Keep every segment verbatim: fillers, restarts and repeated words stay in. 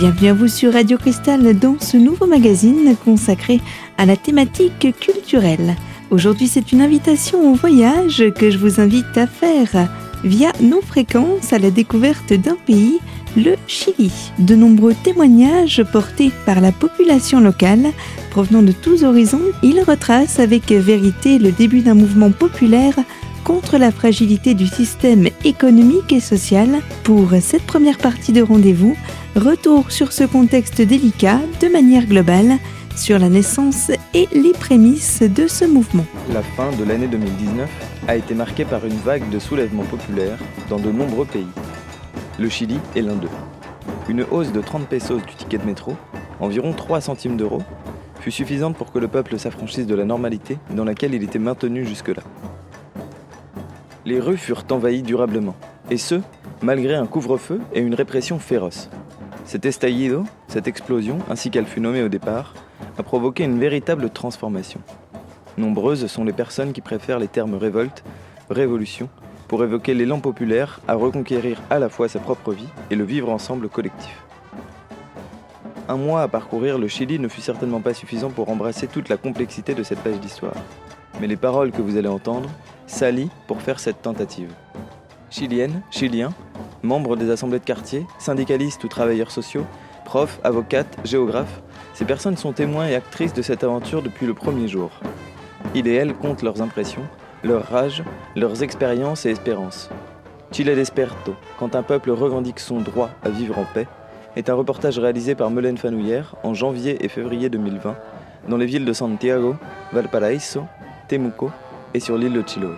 Bienvenue à vous sur Radio Cristal dans ce nouveau magazine consacré à la thématique culturelle. Aujourd'hui, c'est une invitation au voyage que je vous invite à faire via nos fréquences à la découverte d'un pays, le Chili. De nombreux témoignages portés par la population locale, provenant de tous horizons, ils retracent avec vérité le début d'un mouvement populaire contre la fragilité du système économique et social. Pour cette première partie de rendez-vous, retour sur ce contexte délicat de manière globale, sur la naissance et les prémices de ce mouvement. La fin de l'année deux mille dix-neuf a été marquée par une vague de soulèvements populaires dans de nombreux pays. Le Chili est l'un d'eux. Une hausse de trente pesos du ticket de métro, environ trois centimes d'euros, fut suffisante pour que le peuple s'affranchisse de la normalité dans laquelle il était maintenu jusque-là. Les rues furent envahies durablement, et ce, malgré un couvre-feu et une répression féroce. Cet estallido, cette explosion, ainsi qu'elle fut nommée au départ, a provoqué une véritable transformation. Nombreuses sont les personnes qui préfèrent les termes révolte, révolution, pour évoquer l'élan populaire à reconquérir à la fois sa propre vie et le vivre ensemble collectif. Un mois à parcourir le Chili ne fut certainement pas suffisant pour embrasser toute la complexité de cette page d'histoire. Mais les paroles que vous allez entendre s'allient pour faire cette tentative. Chiliennes, Chiliens, membres des assemblées de quartier, syndicalistes ou travailleurs sociaux, profs, avocates, géographes, ces personnes sont témoins et actrices de cette aventure depuis le premier jour. Ils et elles comptent leurs impressions, leur rage, leurs expériences et espérances. Chile Desperto, quand un peuple revendique son droit à vivre en paix, est un reportage réalisé par Melaine Fanouillère en janvier et février deux mille vingt dans les villes de Santiago, Valparaíso, Temuco et sur l'île de Chiloé.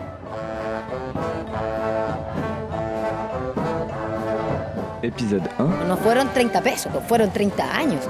Épisode un. No fueron treinta pesos, fueron treinta años.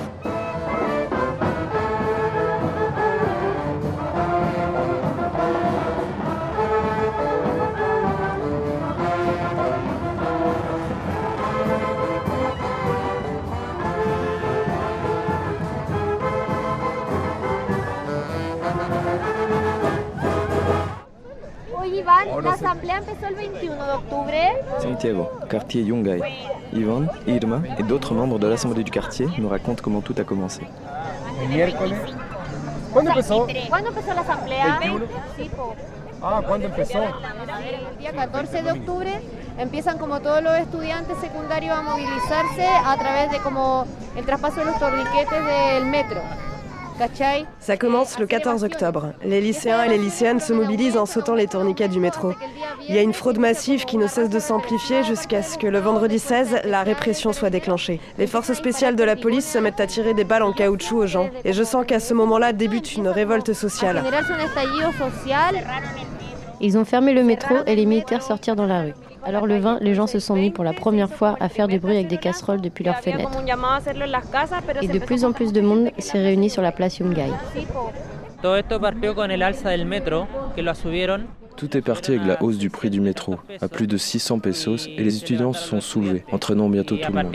La asamblea empezó el veintiuno de octubre. Santiago, quartier Yungay. Yvonne, Irma et d'autres membres de l'assemblée du quartier nous racontent comment tout a commencé. ¿Cuándo empezó? ¿Cuándo empezó la asamblea? Sí, po. Ah, ¿cuándo empezó? El día catorce de octubre empiezan como todos los estudiantes secundarios a movilizarse a través de como el traspaso de los torniquetes del metro. Ça commence le quatorze octobre. Les lycéens et les lycéennes se mobilisent en sautant les tourniquets du métro. Il y a une fraude massive qui ne cesse de s'amplifier jusqu'à ce que le vendredi seize, la répression soit déclenchée. Les forces spéciales de la police se mettent à tirer des balles en caoutchouc aux gens. Et je sens qu'à ce moment-là débute une révolte sociale. Ils ont fermé le métro et les militaires sortirent dans la rue. Alors le vingt, les gens se sont mis pour la première fois à faire du bruit avec des casseroles depuis leurs fenêtres. Et de plus en plus de monde s'est réuni sur la place Yungay. Tout est parti avec la hausse du prix du métro, à plus de six cents pesos, et les étudiants se sont soulevés, entraînant bientôt tout le monde.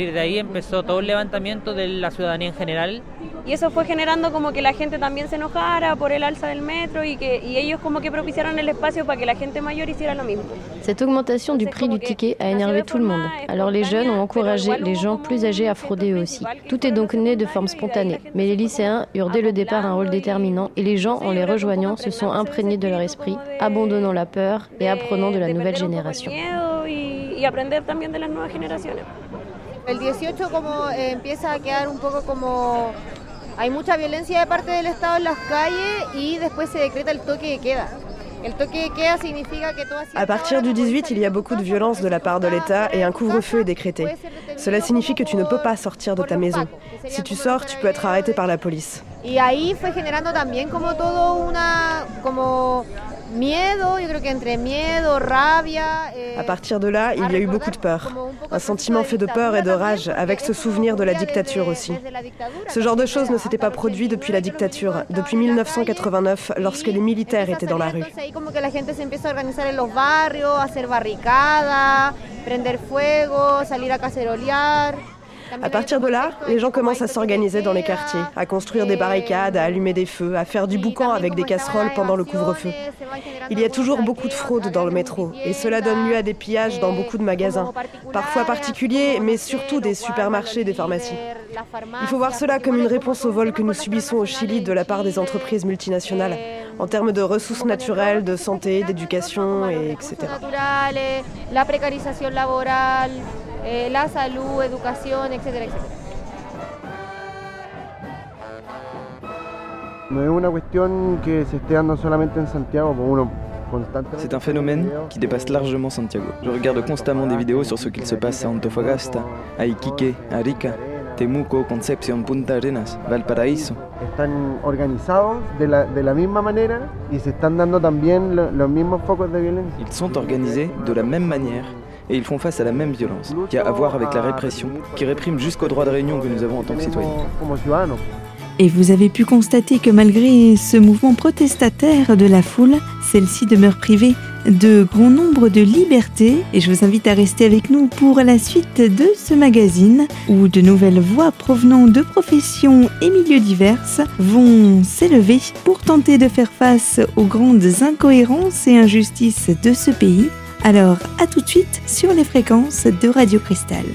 Y eso fue generando como que la gente también se enojara por el alza del metro y que y ellos como que propiciaron el espacio para que la gente mayor hiciera lo mismo. Cette augmentation du prix du ticket a énervé tout le monde. Alors les jeunes ont encouragé les gens plus âgés à frauder eux aussi. Tout est donc né de forme spontanée. Mais les lycéens eurent dès le départ un rôle déterminant et les gens, en les rejoignant, se sont imprégnés de leur esprit, abandonnant la peur et apprenant de la nouvelle génération. Y aprender también de las nuevas generaciones. El dieciocho como eh, empieza a quedar un poco como hay mucha violencia de parte del Estado en las calles y después se decreta el toque de queda. El toque de queda significa que todas À partir du dix-huit, il y a beaucoup de violence de la part de l'État et un couvre-feu est décrété. Cela signifie que tu ne peux pas sortir de ta maison. Si tu sors, tu peux être arrêté par la police. Y ahí fue generando también como todo una como miedo, yo creo que entre miedo, rabia. Eh, à partir de là, il y a eu beaucoup de peur. Un sentiment fait de peur et de rage, avec ce souvenir de la dictature aussi. Ce genre de choses ne s'était pas produit depuis la dictature, depuis mille neuf cent quatre-vingt-neuf, lorsque les militaires étaient dans la rue. Como que la gente se empieza a organizar en los barrios, a hacer barricadas, prender fuego, salir a cacerolear. À partir de là, les gens commencent à s'organiser dans les quartiers, à construire des barricades, à allumer des feux, à faire du boucan avec des casseroles pendant le couvre-feu. Il y a toujours beaucoup de fraude dans le métro et cela donne lieu à des pillages dans beaucoup de magasins, parfois particuliers, mais surtout des supermarchés et des pharmacies. Il faut voir cela comme une réponse au vol que nous subissons au Chili de la part des entreprises multinationales, en termes de ressources naturelles, de santé, d'éducation, et etc. La précarisation laborale, la salud, éducation, et cetera, et cetera. C'est un phénomène qui dépasse largement Santiago. Je regarde constamment des vidéos sur ce qu'il se passe à Antofagasta, à Iquique, à Arica, Temuco, Concepción, Punta Arenas, Valparaíso. Están organizados de la, de la misma manera y se están dando también lo, los mismos focos de violencia. Ils sont organisés de la même manière et ils font face à la même violence, qui a à voir avec la répression, qui réprime jusqu'au droit de réunion que nous avons en tant que citoyens. Et vous avez pu constater que malgré ce mouvement protestataire de la foule, celle-ci demeure privée de grand nombre de libertés. Et je vous invite à rester avec nous pour la suite de ce magazine où de nouvelles voix provenant de professions et milieux divers vont s'élever pour tenter de faire face aux grandes incohérences et injustices de ce pays. Alors, à tout de suite sur les fréquences de Radio Cristal.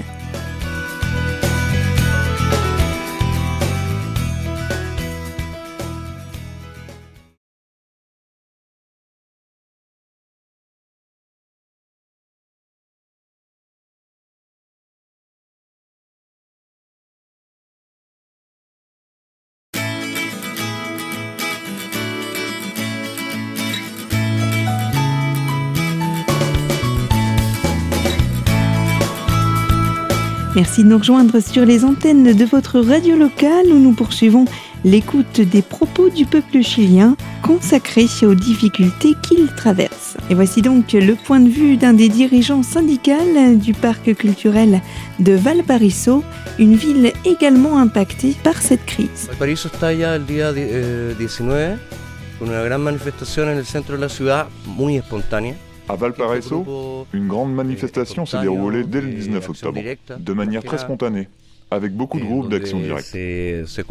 Merci de nous rejoindre sur les antennes de votre radio locale où nous poursuivons l'écoute des propos du peuple chilien consacrés aux difficultés qu'il traverse. Et voici donc le point de vue d'un des dirigeants syndicaux du parc culturel de Valparaíso, une ville également impactée par cette crise. Valparaíso está ya el día dix-neuf, con una gran manifestación en el centro de la ciudad, muy espontánea. À Valparaíso, une grande manifestation s'est déroulée dès le dix-neuf octobre, de manière très spontanée, avec beaucoup de groupes d'action directe. Ce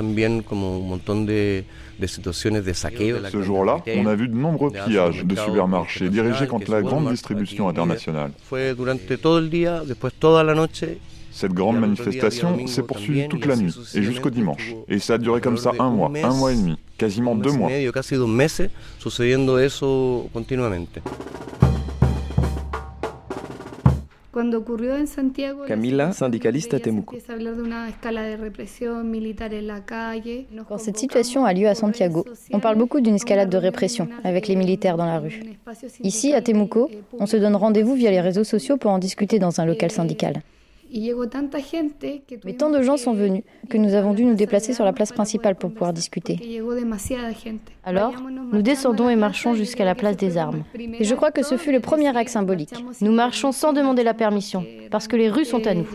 jour-là, on a vu de nombreux pillages de supermarchés dirigés contre la grande distribution internationale. Cette grande manifestation s'est poursuivie toute la nuit et jusqu'au dimanche. Et ça a duré comme ça un mois, un mois et demi, quasiment deux mois. Camila, syndicaliste à Temuco. Quand cette situation a lieu à Santiago, on parle beaucoup d'une escalade de répression avec les militaires dans la rue. Ici, à Temuco, on se donne rendez-vous via les réseaux sociaux pour en discuter dans un local syndical. Mais tant de gens sont venus que nous avons dû nous déplacer sur la place principale pour pouvoir discuter. Alors, nous descendons et marchons jusqu'à la place des Armes. Et je crois que ce fut le premier acte symbolique. Nous marchons sans demander la permission, parce que les rues sont à nous.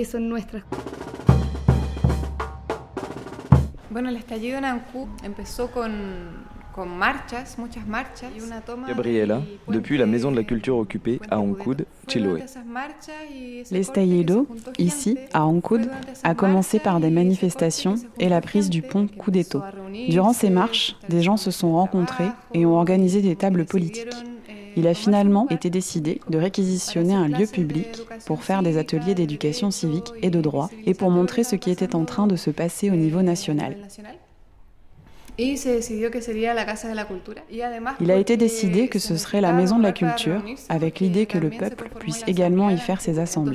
Gabriela, depuis la maison de la culture occupée à Ancud, Chiloé. L'estallido, ici, à Ancud, a commencé par des manifestations et la prise du pont Cudeto. Durant ces marches, des gens se sont rencontrés et ont organisé des tables politiques. Il a finalement été décidé de réquisitionner un lieu public pour faire des ateliers d'éducation civique et de droit et pour montrer ce qui était en train de se passer au niveau national. Il a été décidé que ce serait la Maison de la Culture, avec l'idée que le peuple puisse également y faire ses assemblées.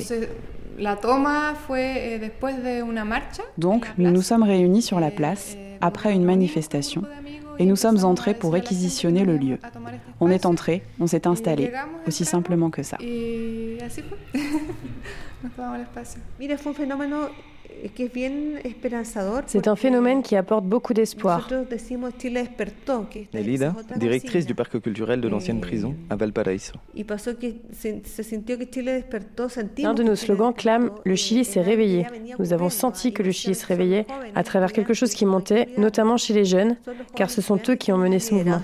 Donc, nous nous sommes réunis sur la place, après une manifestation, et nous sommes entrés pour réquisitionner le lieu. On est entrés, on s'est installés, aussi simplement que ça. C'est un phénomène qui apporte beaucoup d'espoir. Nelida, directrice du parc culturel de l'ancienne prison à Valparaíso. L'un de nos slogans clame « Le Chili s'est réveillé ». Nous avons senti que le Chili se réveillait à travers quelque chose qui montait, notamment chez les jeunes, car ce sont eux qui ont mené ce mouvement.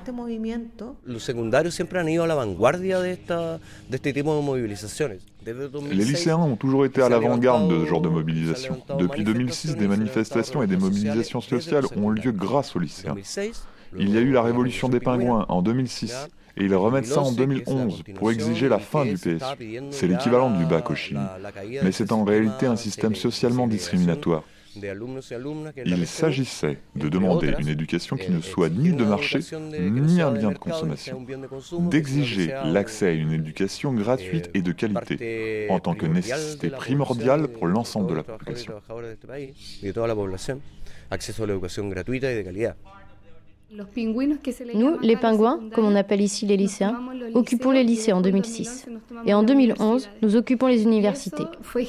Les lycéens ont toujours été à l'avant-garde de ce genre de mobilisation. Depuis deux mille six, des manifestations et des mobilisations sociales ont lieu grâce aux lycéens. Il y a eu la révolution des pingouins en deux mille six, et ils remettent ça en deux mille onze pour exiger la fin du P S U. C'est l'équivalent du bac au Chili, mais c'est en réalité un système socialement discriminatoire. Il s'agissait de demander une éducation qui ne soit ni de marché, ni un bien de consommation, d'exiger l'accès à une éducation gratuite et de qualité, en tant que nécessité primordiale pour l'ensemble de la population. Nous, les pingouins, comme on appelle ici les lycéens, occupons les lycées en deux mille six. Et en deux mille onze, nous occupons les universités.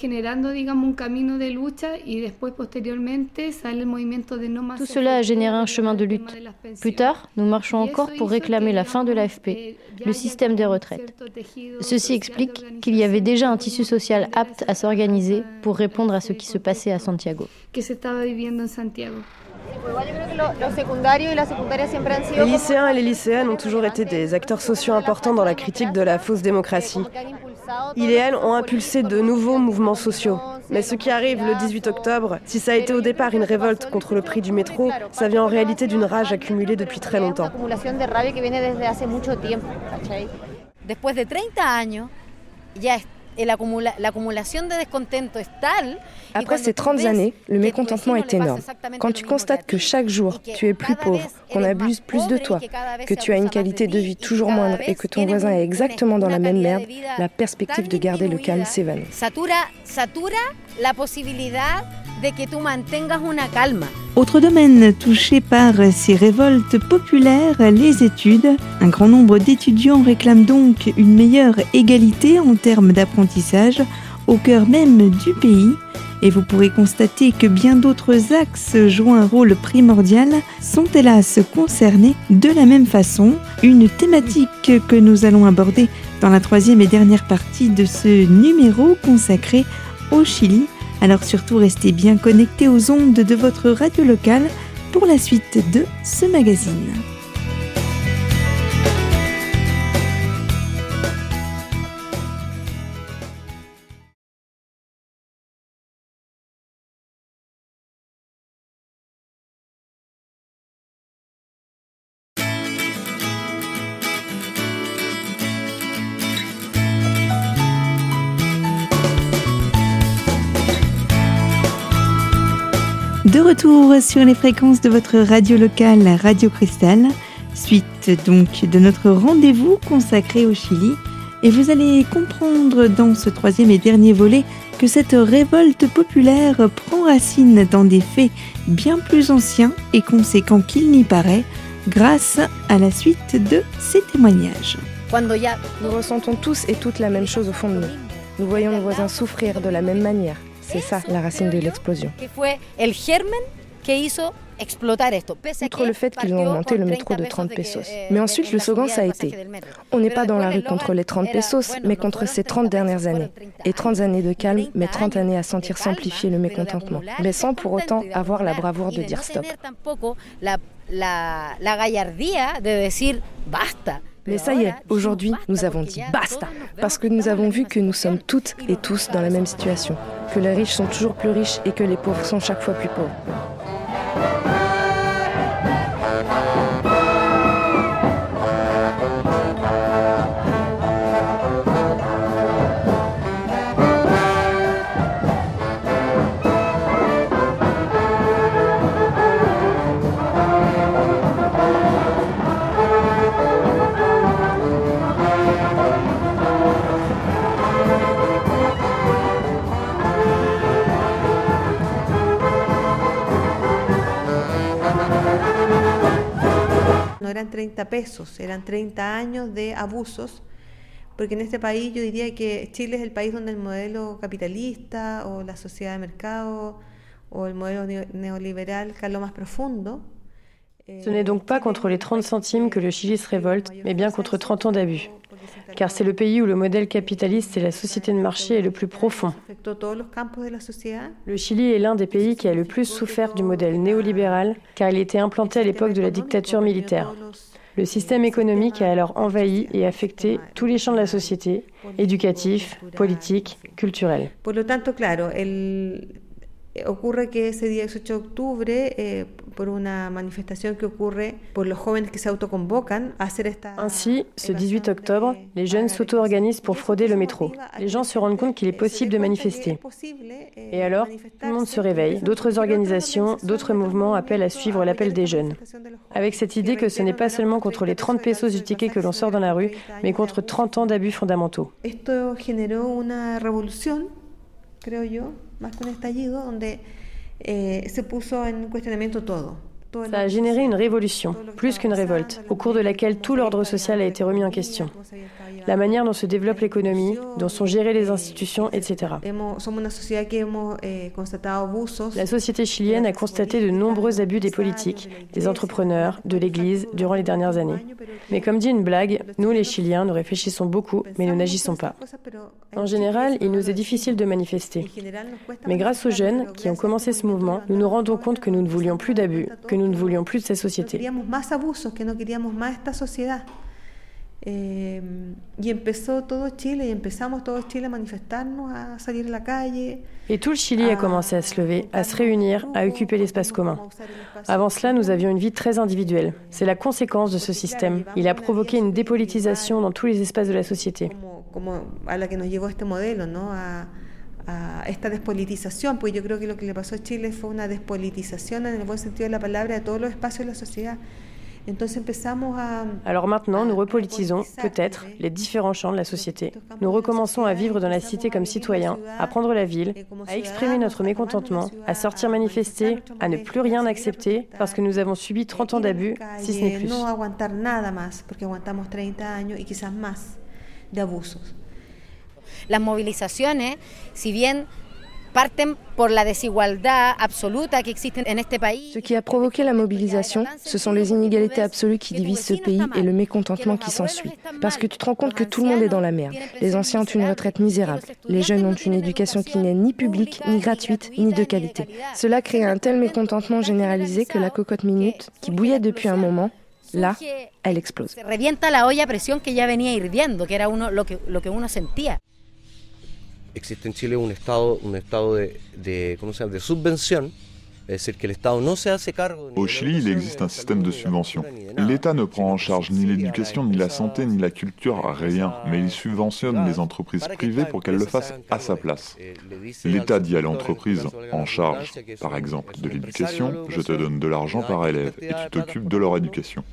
Tout cela a généré un chemin de lutte. Plus tard, nous marchons encore pour réclamer la fin de l'A F P, le système des retraites. Ceci explique qu'il y avait déjà un tissu social apte à s'organiser pour répondre à ce qui se passait à Santiago. Les lycéens et les lycéennes ont toujours été des acteurs sociaux importants dans la critique de la fausse démocratie. Ils et elles ont impulsé de nouveaux mouvements sociaux. Mais ce qui arrive le dix-huit octobre, si ça a été au départ une révolte contre le prix du métro, ça vient en réalité d'une rage accumulée depuis très longtemps. Después de treinta años, ya Après ces trente années, le mécontentement est énorme. Quand tu constates que chaque jour, tu es plus pauvre, qu'on abuse plus de toi, que tu as une qualité de vie toujours moindre et que ton voisin est exactement dans la même merde, la perspective de garder le calme s'évanouit. Autre domaine touché par ces révoltes populaires, les études. Un grand nombre d'étudiants réclament donc une meilleure égalité en termes d'apprentissage au cœur même du pays. Et vous pourrez constater que bien d'autres axes jouant un rôle primordial sont hélas concernés de la même façon. Une thématique que nous allons aborder dans la troisième et dernière partie de ce numéro consacré au Chili. Alors surtout, restez bien connectés aux ondes de votre radio locale pour la suite de ce magazine. De retour sur les fréquences de votre radio locale Radio Cristal, suite donc de notre rendez-vous consacré au Chili. Et vous allez comprendre dans ce troisième et dernier volet que cette révolte populaire prend racine dans des faits bien plus anciens et conséquents qu'il n'y paraît, grâce à la suite de ces témoignages. Nous ressentons tous et toutes la même chose au fond de nous. Nous voyons nos voisins souffrir de la même manière. C'est ça la racine de l'explosion. Outre le fait qu'ils ont augmenté le métro de trente pesos. Mais ensuite, le slogan, ça a été « On n'est pas dans la rue contre les trente pesos, mais contre ces trente dernières années. Et trente années de calme, mais trente années à sentir s'amplifier le mécontentement. Mais sans pour autant avoir la bravoure de dire stop. » Mais ça y est, aujourd'hui, nous avons dit basta, parce que nous avons vu que nous sommes toutes et tous dans la même situation, que les riches sont toujours plus riches et que les pauvres sont chaque fois plus pauvres. Eran treinta pesos, eran treinta años de abusos, porque en este país yo diría que Chile es el país donde el modelo capitalista o la sociedad de mercado o el modelo neoliberal caló más profundo. Ce n'est donc pas contre les trente centimes que le Chili se révolte, mais bien contre trente ans d'abus. Car c'est le pays où le modèle capitaliste et la société de marché est le plus profond. Le Chili est l'un des pays qui a le plus souffert du modèle néolibéral, car il était implanté à l'époque de la dictature militaire. Le système économique a alors envahi et affecté tous les champs de la société, éducatif, politique, culturel. Por lo tanto, claro, el ocurre que ese día dieciocho de octubre, eh, por una manifestación que ocurre por los jóvenes que se autoconvocan a hacer esta... Ainsi, ce dix-huit octobre, les jeunes s'auto-organisent pour frauder le métro. Les gens se rendent compte qu'il est possible de manifester. Et alors, tout le monde se réveille. D'autres organisations, d'autres mouvements appellent à suivre l'appel des jeunes. Avec cette idée que ce n'est pas seulement contre les trente pesos du ticket que l'on sort dans la rue, mais contre trente ans d'abus fondamentaux. Esto generó una revolución, creo yo, más que un estallido, donde eh, se puso en cuestionamiento todo. Ça a généré une révolution, plus qu'une révolte, au cours de laquelle tout l'ordre social a été remis en question. La manière dont se développe l'économie, dont sont gérées les institutions, et cetera. La société chilienne a constaté de nombreux abus des politiques, des entrepreneurs, de l'Église, durant les dernières années. Mais comme dit une blague, nous les Chiliens, nous réfléchissons beaucoup, mais nous n'agissons pas. En général, il nous est difficile de manifester. Mais grâce aux jeunes qui ont commencé ce mouvement, nous nous rendons compte que nous ne voulions plus d'abus, que nous ne voulions plus de ces sociétés. Eh, y empezó todo Chile, y empezamos todo Chile a manifestarnos, a salir a la calle. Et tout le Chili a commencé à se lever, à se réunir, à occuper l'espace commun. Avant cela, nous avions une vie très individuelle. C'est la conséquence de ce système. Il a provoqué une dépolitisation dans tous les espaces de la société. Como a la que nos llevó este modelo, ¿no? A, a esta despolitización, pues yo creo que lo que le pasó a Chile fue una despolitización en el buen sentido de la palabra de todos los espacios de la sociedad. Alors maintenant, nous repolitisons, peut-être, les différents champs de la société. Nous recommençons à vivre dans la cité comme citoyens, à prendre la ville, à exprimer notre mécontentement, à sortir manifester, à ne plus rien accepter parce que nous avons subi trente ans d'abus, si ce n'est plus. Las movilizaciones, si bien parten por la desigualdad absoluta que existe en este país. Ce qui a provoqué la mobilisation, ce sont les inégalités absolues qui divisent ce pays et le mécontentement qui s'ensuit. Parce que tu te rends compte que tout le monde est dans la merde. Les anciens ont une retraite misérable. Les jeunes ont une éducation qui n'est ni publique, ni gratuite, ni de qualité. Cela crée un tel mécontentement généralisé que la cocotte minute, qui bouillait depuis un moment, là, elle explose. Se revienta la olla a presión que ya venía hirviendo, que era uno, lo que, lo que uno sentía. Existe en Chile un estado, un estado de, de, ¿cómo se llama? de subvención, es decir, que el Estado no se hace cargo. Au Chili, il existe un système de subvention. L'État ne prend en charge ni l'éducation, ni la santé, ni la culture, rien, mais il subventionne les entreprises privées pour qu'elles le fassent à sa place. L'État dit à l'entreprise en charge, par exemple, de l'éducation, je te donne de l'argent par élève et tu t'occupes de leur éducation.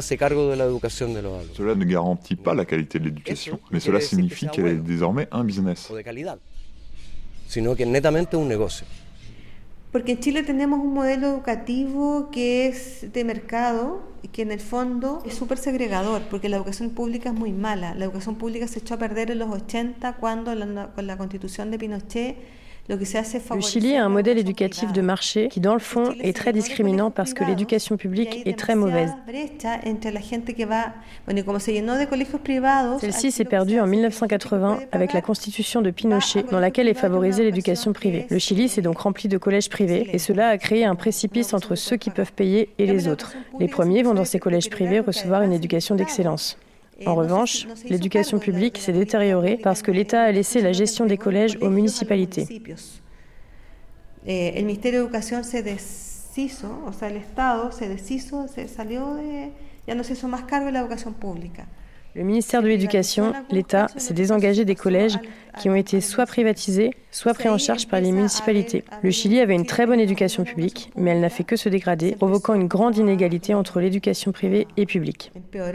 Cela ne garantit pas la qualité de l'éducation, mais cela signifie qu'elle est désormais un business. Sino que netamente un negocio. Porque en Chile tenemos un modelo educativo que es de mercado y que en el fondo es súper segregador, porque la educación pública es muy mala. La educación pública se echó a perder en los ochenta cuando la, con la constitución de Pinochet. Le Chili a un modèle éducatif de marché qui, dans le fond, est très discriminant parce que l'éducation publique est très mauvaise. Celle-ci s'est perdue en mille neuf cent quatre-vingts avec la constitution de Pinochet, dans laquelle est favorisée l'éducation privée. Le Chili s'est donc rempli de collèges privés et cela a créé un précipice entre ceux qui peuvent payer et les autres. Les premiers vont dans ces collèges privés recevoir une éducation d'excellence. En revanche, l'éducation publique s'est détériorée parce que l'État a laissé la gestion des collèges aux municipalités. Le ministère de l'Éducation s'est deshizo, o sea, el Estado se deshizo, se salió de, ya no se hizo más cargo de la educación pública. Le ministère de l'Éducation, l'État, s'est désengagé des collèges qui ont été soit privatisés, soit pris en charge par les municipalités. Le Chili avait une très bonne éducation publique, mais elle n'a fait que se dégrader, provoquant une grande inégalité entre l'éducation privée et publique.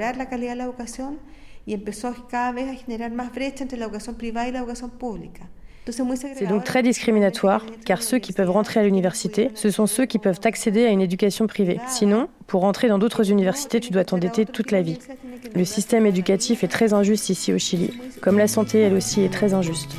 C'est donc très discriminatoire, car ceux qui peuvent rentrer à l'université, ce sont ceux qui peuvent accéder à une éducation privée. Sinon, pour rentrer dans d'autres universités, tu dois t'endetter toute la vie. Le système éducatif est très injuste ici au Chili, comme la santé, elle aussi, est très injuste.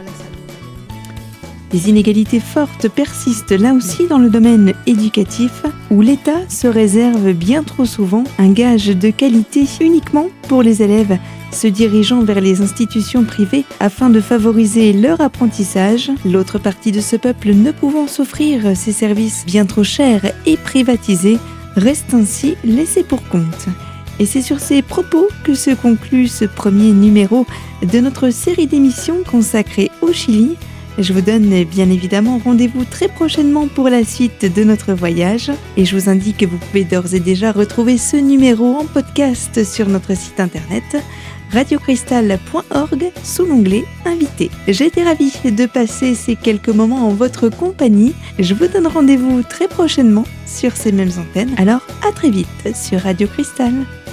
Les inégalités fortes persistent là aussi dans le domaine éducatif, où l'État se réserve bien trop souvent un gage de qualité uniquement pour les élèves se dirigeant vers les institutions privées afin de favoriser leur apprentissage, l'autre partie de ce peuple ne pouvant s'offrir ces services bien trop chers et privatisés reste ainsi laissée pour compte. Et c'est sur ces propos que se conclut ce premier numéro de notre série d'émissions consacrée au Chili. Je vous donne bien évidemment rendez-vous très prochainement pour la suite de notre voyage et je vous indique que vous pouvez d'ores et déjà retrouver ce numéro en podcast sur notre site internet radio cristal point org sous l'onglet Invités. J'ai été ravie de passer ces quelques moments en votre compagnie. Je vous donne rendez-vous très prochainement sur ces mêmes antennes. Alors à très vite sur Radio Cristal.